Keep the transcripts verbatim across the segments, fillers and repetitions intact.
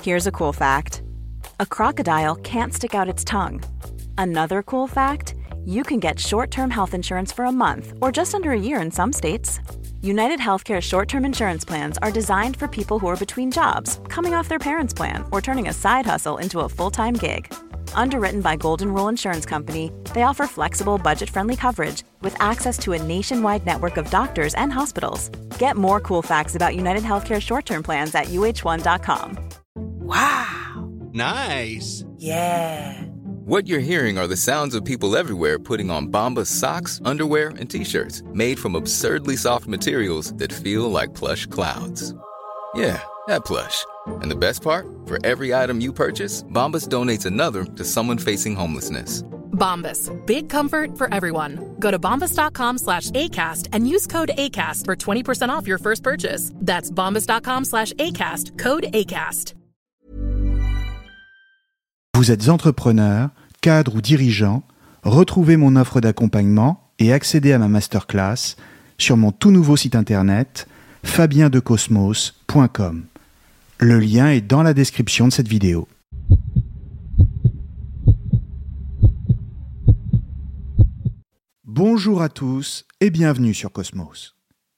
Here's a cool fact. A crocodile can't stick out its tongue. Another cool fact, you can get short-term health insurance for a month or just under a year in some states. United Healthcare short-term insurance plans are designed for people who are between jobs, coming off their parents' plan, or turning a side hustle into a full-time gig. Underwritten by Golden Rule Insurance Company, they offer flexible, budget-friendly coverage with access to a nationwide network of doctors and hospitals. Get more cool facts about United Healthcare short-term plans at U H one dot com. Wow! Nice! Yeah! What you're hearing are the sounds of people everywhere putting on Bombas socks, underwear, and T-shirts made from absurdly soft materials that feel like plush clouds. Yeah, that plush. And the best part? For every item you purchase, Bombas donates another to someone facing homelessness. Bombas. Big comfort for everyone. Go to bombas.com slash ACAST and use code ACAST for twenty percent off your first purchase. That's bombas.com slash ACAST. Code ACAST. Vous êtes entrepreneur, cadre ou dirigeant, retrouvez mon offre d'accompagnement et accédez à ma masterclass sur mon tout nouveau site internet fabien de cosmos point com. Le lien est dans la description de cette vidéo. Bonjour à tous et bienvenue sur Cosmos.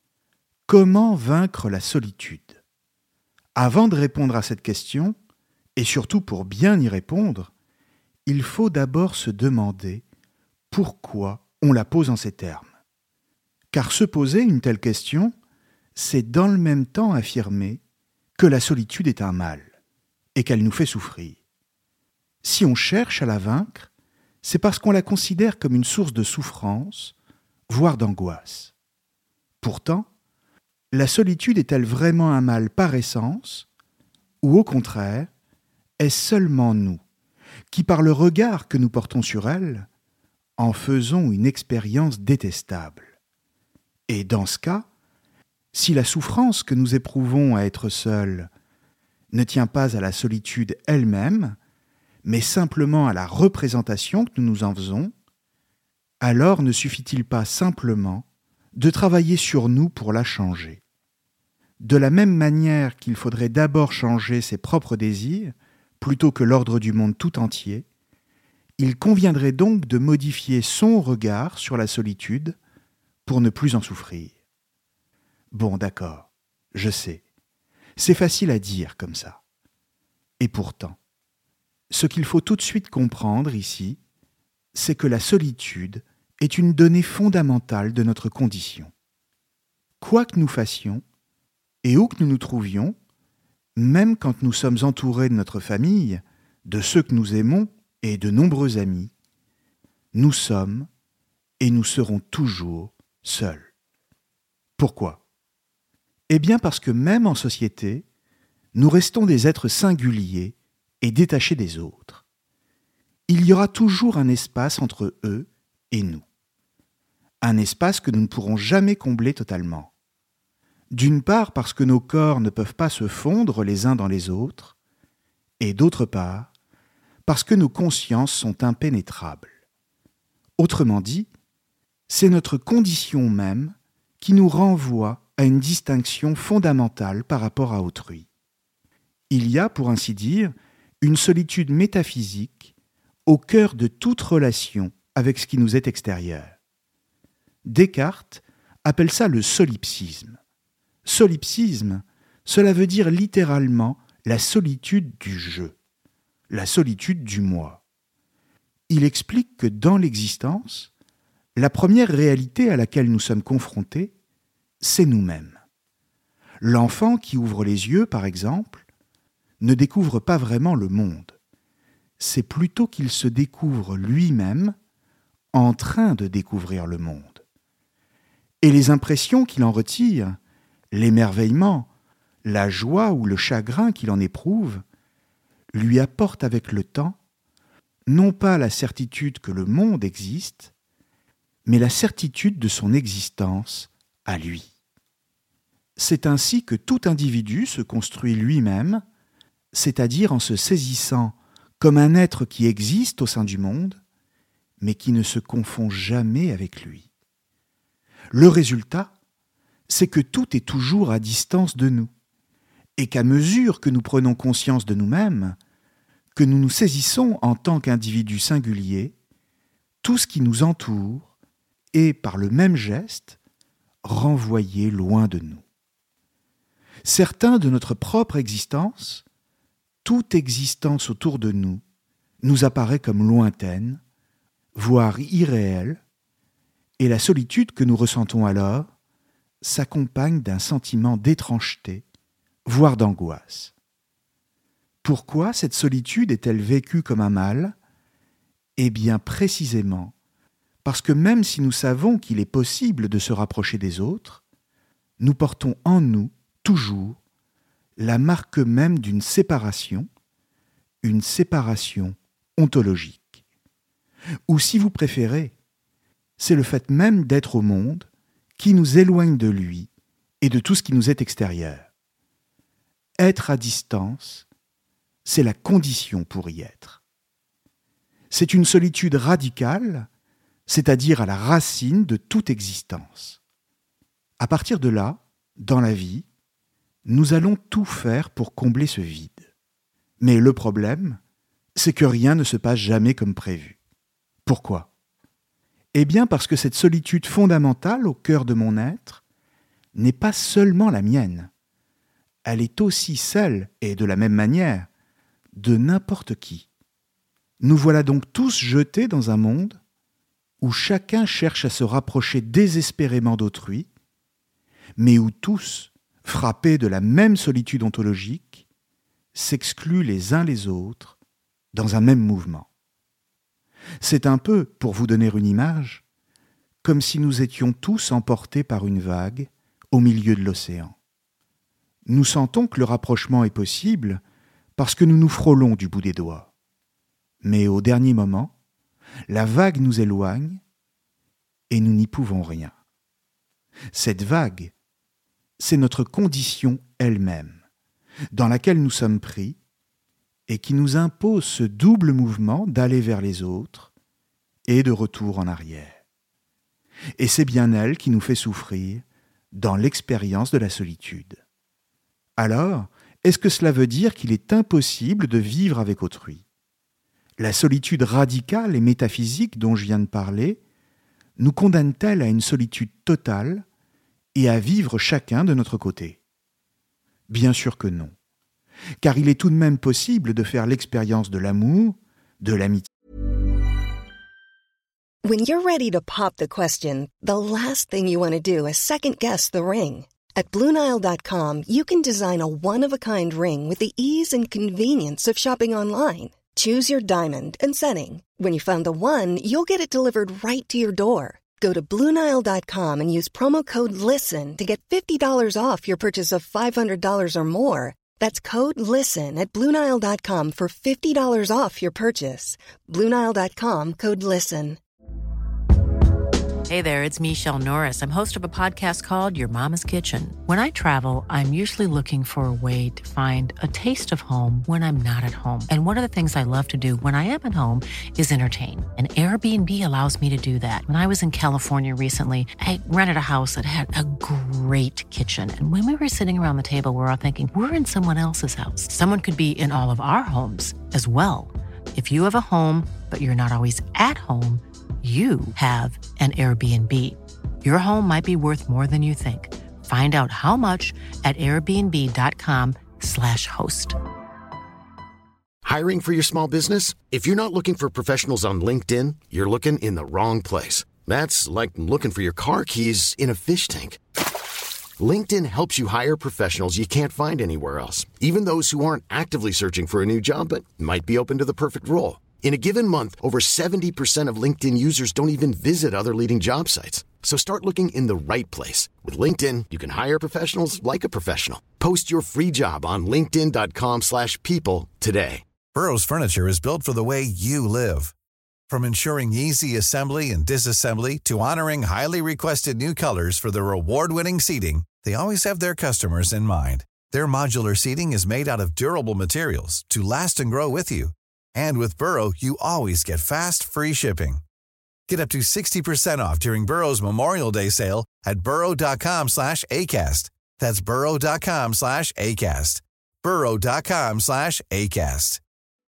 Comment vaincre la solitude ? Avant de répondre à cette question, et surtout pour bien y répondre, il faut d'abord se demander pourquoi on la pose en ces termes. Car se poser une telle question, c'est dans le même temps affirmer que la solitude est un mal et qu'elle nous fait souffrir. Si on cherche à la vaincre, c'est parce qu'on la considère comme une source de souffrance, voire d'angoisse. Pourtant, la solitude est-elle vraiment un mal par essence, ou au contraire, est-ce seulement nous qui, par le regard que nous portons sur elle, en faisons une expérience détestable ? Et dans ce cas, si la souffrance que nous éprouvons à être seuls ne tient pas à la solitude elle-même, mais simplement à la représentation que nous nous en faisons, alors ne suffit-il pas simplement de travailler sur nous pour la changer ? De la même manière qu'il faudrait d'abord changer ses propres désirs, plutôt que l'ordre du monde tout entier, il conviendrait donc de modifier son regard sur la solitude pour ne plus en souffrir. Bon, d'accord, je sais, c'est facile à dire comme ça. Et pourtant, ce qu'il faut tout de suite comprendre ici, c'est que la solitude est une donnée fondamentale de notre condition. Quoi que nous fassions, et où que nous nous trouvions, même quand nous sommes entourés de notre famille, de ceux que nous aimons et de nombreux amis, nous sommes et nous serons toujours seuls. Pourquoi ? Eh bien parce que même en société, nous restons des êtres singuliers et détachés des autres. Il y aura toujours un espace entre eux et nous. Un espace que nous ne pourrons jamais combler totalement. D'une part parce que nos corps ne peuvent pas se fondre les uns dans les autres, et d'autre part parce que nos consciences sont impénétrables. Autrement dit, c'est notre condition même qui nous renvoie à une distinction fondamentale par rapport à autrui. Il y a, pour ainsi dire, une solitude métaphysique au cœur de toute relation avec ce qui nous est extérieur. Descartes appelle ça le solipsisme. Solipsisme, cela veut dire littéralement la solitude du je, la solitude du moi. Il explique que dans l'existence, la première réalité à laquelle nous sommes confrontés, c'est nous-mêmes. L'enfant qui ouvre les yeux, par exemple, ne découvre pas vraiment le monde. C'est plutôt qu'il se découvre lui-même en train de découvrir le monde. Et les impressions qu'il en retire, l'émerveillement, la joie ou le chagrin qu'il en éprouve, lui apportent avec le temps non pas la certitude que le monde existe, mais la certitude de son existence à lui. C'est ainsi que tout individu se construit lui-même, c'est-à-dire en se saisissant comme un être qui existe au sein du monde, mais qui ne se confond jamais avec lui. Le résultat, c'est que tout est toujours à distance de nous, et qu'à mesure que nous prenons conscience de nous-mêmes, que nous nous saisissons en tant qu'individus singuliers, tout ce qui nous entoure est, par le même geste, renvoyé loin de nous. Certains de notre propre existence, toute existence autour de nous, nous apparaît comme lointaine, voire irréelle, et la solitude que nous ressentons alors s'accompagne d'un sentiment d'étrangeté, voire d'angoisse. Pourquoi cette solitude est-elle vécue comme un mal ? Eh bien précisément parce que même si nous savons qu'il est possible de se rapprocher des autres, nous portons en nous, toujours, la marque même d'une séparation, une séparation ontologique. Ou si vous préférez, c'est le fait même d'être au monde qui nous éloigne de lui et de tout ce qui nous est extérieur. Être à distance, c'est la condition pour y être. C'est une solitude radicale, c'est-à-dire à la racine de toute existence. À partir de là, dans la vie, nous allons tout faire pour combler ce vide. Mais le problème, c'est que rien ne se passe jamais comme prévu. Pourquoi ? Eh bien parce que cette solitude fondamentale au cœur de mon être n'est pas seulement la mienne. Elle est aussi celle, et de la même manière, de n'importe qui. Nous voilà donc tous jetés dans un monde où chacun cherche à se rapprocher désespérément d'autrui, mais où tous, frappés de la même solitude ontologique, s'excluent les uns les autres dans un même mouvement. C'est un peu, pour vous donner une image, comme si nous étions tous emportés par une vague au milieu de l'océan. Nous sentons que le rapprochement est possible parce que nous nous frôlons du bout des doigts. Mais au dernier moment, la vague nous éloigne et nous n'y pouvons rien. Cette vague, c'est notre condition elle-même, dans laquelle nous sommes pris et qui nous impose ce double mouvement d'aller vers les autres et de retour en arrière. Et c'est bien elle qui nous fait souffrir dans l'expérience de la solitude. Alors, est-ce que cela veut dire qu'il est impossible de vivre avec autrui ? La solitude radicale et métaphysique dont je viens de parler nous condamne-t-elle à une solitude totale et à vivre chacun de notre côté ? Bien sûr que non, car il est tout de même possible de faire l'expérience de l'amour, de l'amitié. When you're ready to pop the question, the last thing you want to do is second-guess the ring. At Blue Nile dot com, you can design a one-of-a-kind ring with the ease and convenience of shopping online. Choose your diamond and setting. When you find the one, you'll get it delivered right to your door. Go to Blue Nile dot com and use promo code LISTEN to get fifty dollars off your purchase of five hundred dollars or more. That's code LISTEN at Blue Nile dot com for fifty dollars off your purchase. Blue Nile dot com, code LISTEN. Hey there, it's Michelle Norris. I'm host of a podcast called Your Mama's Kitchen. When I travel, I'm usually looking for a way to find a taste of home when I'm not at home. And one of the things I love to do when I am at home is entertain. And Airbnb allows me to do that. When I was in California recently, I rented a house that had a great kitchen. And when we were sitting around the table, we were all thinking, we're in someone else's house. Someone could be in all of our homes as well. If you have a home, but you're not always at home, you have an Airbnb. Your home might be worth more than you think. Find out how much at airbnb.com slash host. Hiring for your small business? If you're not looking for professionals on LinkedIn, you're looking in the wrong place. That's like looking for your car keys in a fish tank. LinkedIn helps you hire professionals you can't find anywhere else, even those who aren't actively searching for a new job but might be open to the perfect role. In a given month, over seventy percent of LinkedIn users don't even visit other leading job sites. So start looking in the right place. With LinkedIn, you can hire professionals like a professional. Post your free job on linkedin.com slash people today. Burrow's furniture is built for the way you live. From ensuring easy assembly and disassembly to honoring highly requested new colors for their award-winning seating, they always have their customers in mind. Their modular seating is made out of durable materials to last and grow with you. And with Burrow, you always get fast, free shipping. Get up to sixty percent off during Burrow's Memorial Day sale at burrow.com slash ACAST. That's burrow.com slash ACAST. burrow.com slash ACAST.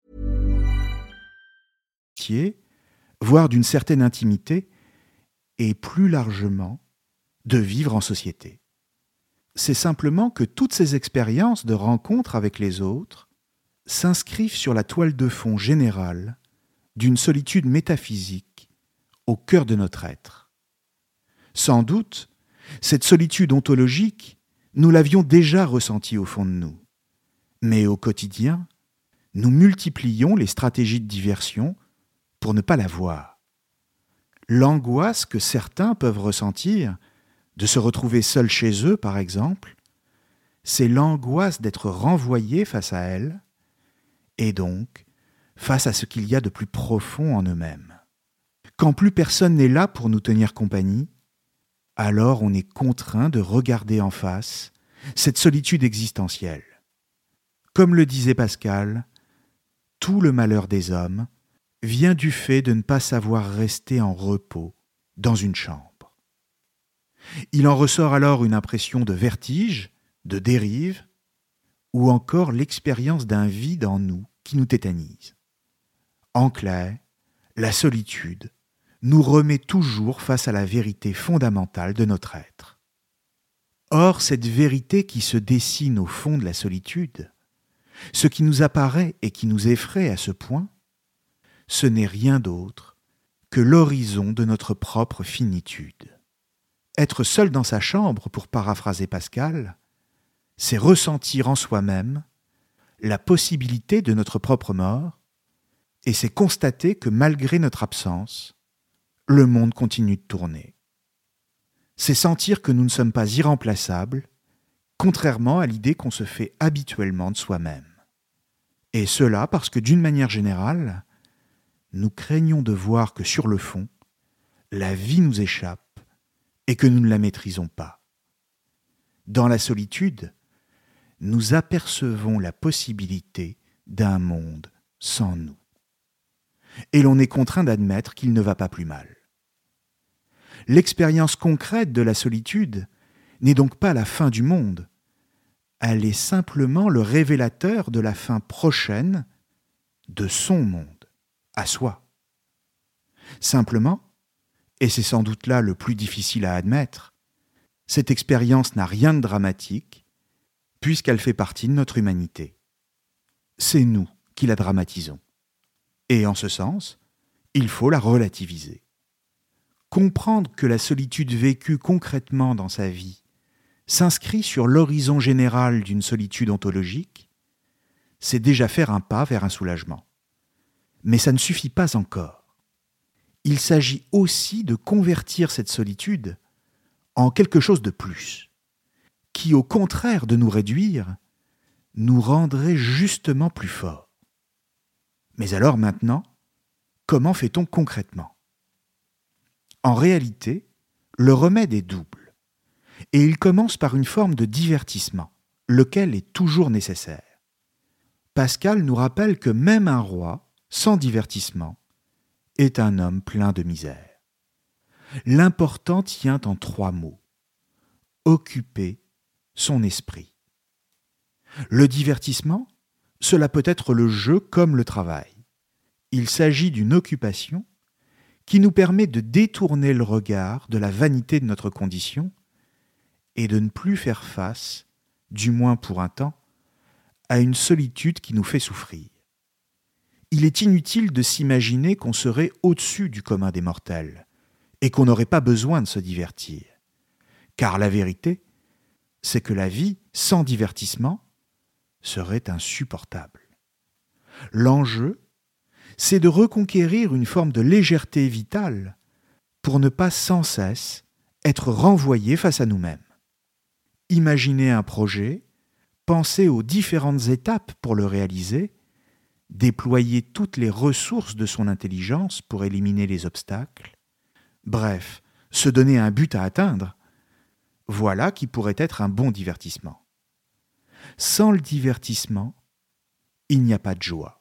Voire d'une certaine intimité, et plus largement, de vivre en société. C'est simplement que toutes ces expériences de rencontre avec les autres s'inscrivent sur la toile de fond générale d'une solitude métaphysique au cœur de notre être. Sans doute, cette solitude ontologique, nous l'avions déjà ressentie au fond de nous. Mais au quotidien, nous multiplions les stratégies de diversion pour ne pas la voir. L'angoisse que certains peuvent ressentir de se retrouver seuls chez eux, par exemple, c'est l'angoisse d'être renvoyés face à elle, et donc face à ce qu'il y a de plus profond en eux-mêmes. Quand plus personne n'est là pour nous tenir compagnie, alors on est contraint de regarder en face cette solitude existentielle. Comme le disait Pascal, tout le malheur des hommes vient du fait de ne pas savoir rester en repos dans une chambre. Il en ressort alors une impression de vertige, de dérive, ou encore l'expérience d'un vide en nous qui nous tétanise. En clair, la solitude nous remet toujours face à la vérité fondamentale de notre être. Or, cette vérité qui se dessine au fond de la solitude, ce qui nous apparaît et qui nous effraie à ce point, ce n'est rien d'autre que l'horizon de notre propre finitude. Être seul dans sa chambre, pour paraphraser Pascal, c'est ressentir en soi-même la possibilité de notre propre mort, et c'est constater que malgré notre absence, le monde continue de tourner. C'est sentir que nous ne sommes pas irremplaçables, contrairement à l'idée qu'on se fait habituellement de soi-même. Et cela parce que, d'une manière générale, nous craignons de voir que sur le fond, la vie nous échappe et que nous ne la maîtrisons pas. Dans la solitude, nous apercevons la possibilité d'un monde sans nous. Et l'on est contraint d'admettre qu'il ne va pas plus mal. L'expérience concrète de la solitude n'est donc pas la fin du monde. Elle est simplement le révélateur de la fin prochaine de son monde, à soi. Simplement, et c'est sans doute là le plus difficile à admettre, cette expérience n'a rien de dramatique, puisqu'elle fait partie de notre humanité. C'est nous qui la dramatisons. Et en ce sens, il faut la relativiser. Comprendre que la solitude vécue concrètement dans sa vie s'inscrit sur l'horizon général d'une solitude ontologique, c'est déjà faire un pas vers un soulagement. Mais ça ne suffit pas encore. Il s'agit aussi de convertir cette solitude en quelque chose de plus, qui, au contraire de nous réduire, nous rendrait justement plus forts. Mais alors maintenant, comment fait-on concrètement ? En réalité, le remède est double, et il commence par une forme de divertissement, lequel est toujours nécessaire. Pascal nous rappelle que même un roi, sans divertissement, est un homme plein de misère. L'important tient en trois mots : occuper son esprit. Le divertissement, cela peut être le jeu comme le travail. Il s'agit d'une occupation qui nous permet de détourner le regard de la vanité de notre condition et de ne plus faire face, du moins pour un temps, à une solitude qui nous fait souffrir. Il est inutile de s'imaginer qu'on serait au-dessus du commun des mortels et qu'on n'aurait pas besoin de se divertir. Car la vérité, c'est que la vie sans divertissement serait insupportable. L'enjeu, c'est de reconquérir une forme de légèreté vitale pour ne pas sans cesse être renvoyé face à nous-mêmes. Imaginer un projet, penser aux différentes étapes pour le réaliser, déployer toutes les ressources de son intelligence pour éliminer les obstacles, bref, se donner un but à atteindre, voilà qui pourrait être un bon divertissement. Sans le divertissement, il n'y a pas de joie.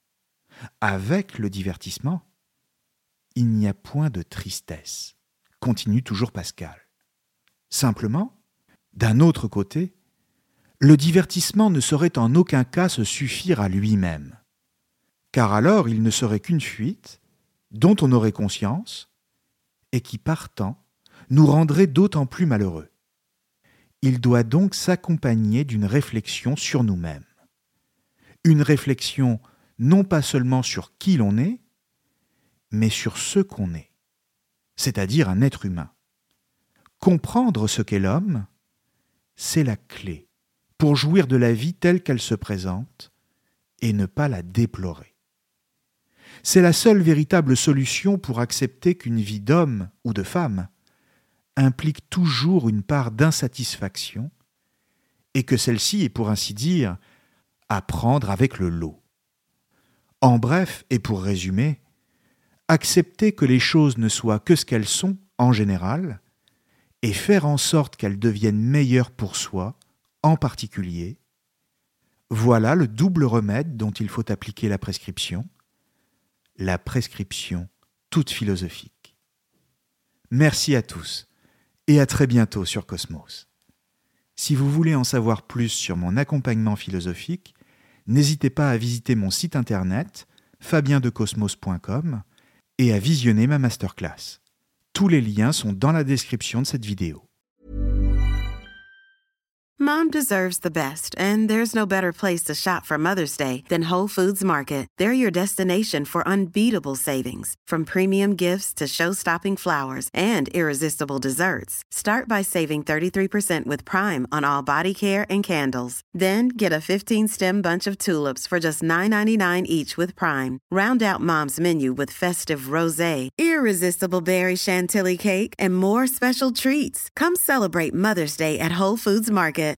Avec le divertissement, il n'y a point de tristesse, continue toujours Pascal. Simplement, D'un autre côté, le divertissement ne saurait en aucun cas se suffire à lui-même, car alors il ne serait qu'une fuite dont on aurait conscience et qui, partant, nous rendrait d'autant plus malheureux. Il doit donc s'accompagner d'une réflexion sur nous-mêmes. Une réflexion non pas seulement sur qui l'on est, mais sur ce qu'on est, c'est-à-dire un être humain. Comprendre ce qu'est l'homme, c'est la clé pour jouir de la vie telle qu'elle se présente et ne pas la déplorer. C'est la seule véritable solution pour accepter qu'une vie d'homme ou de femme implique toujours une part d'insatisfaction et que celle-ci est, pour ainsi dire, à prendre avec le lot. En bref, et pour résumer, accepter que les choses ne soient que ce qu'elles sont en général et faire en sorte qu'elles deviennent meilleures pour soi en particulier, voilà le double remède dont il faut appliquer la prescription, la prescription toute philosophique. Merci à tous et à très bientôt sur Cosmos. Si vous voulez en savoir plus sur mon accompagnement philosophique, n'hésitez pas à visiter mon site internet fabien de cosmos point com et à visionner ma masterclass. Tous les liens sont dans la description de cette vidéo. Mom deserves the best, and there's no better place to shop for Mother's Day than Whole Foods Market. They're your destination for unbeatable savings, from premium gifts to show-stopping flowers and irresistible desserts. Start by saving thirty-three percent with Prime on all body care and candles. Then get a fifteen-stem bunch of tulips for just nine ninety-nine each with Prime. Round out Mom's menu with festive rosé, irresistible berry chantilly cake, and more special treats. Come celebrate Mother's Day at Whole Foods Market.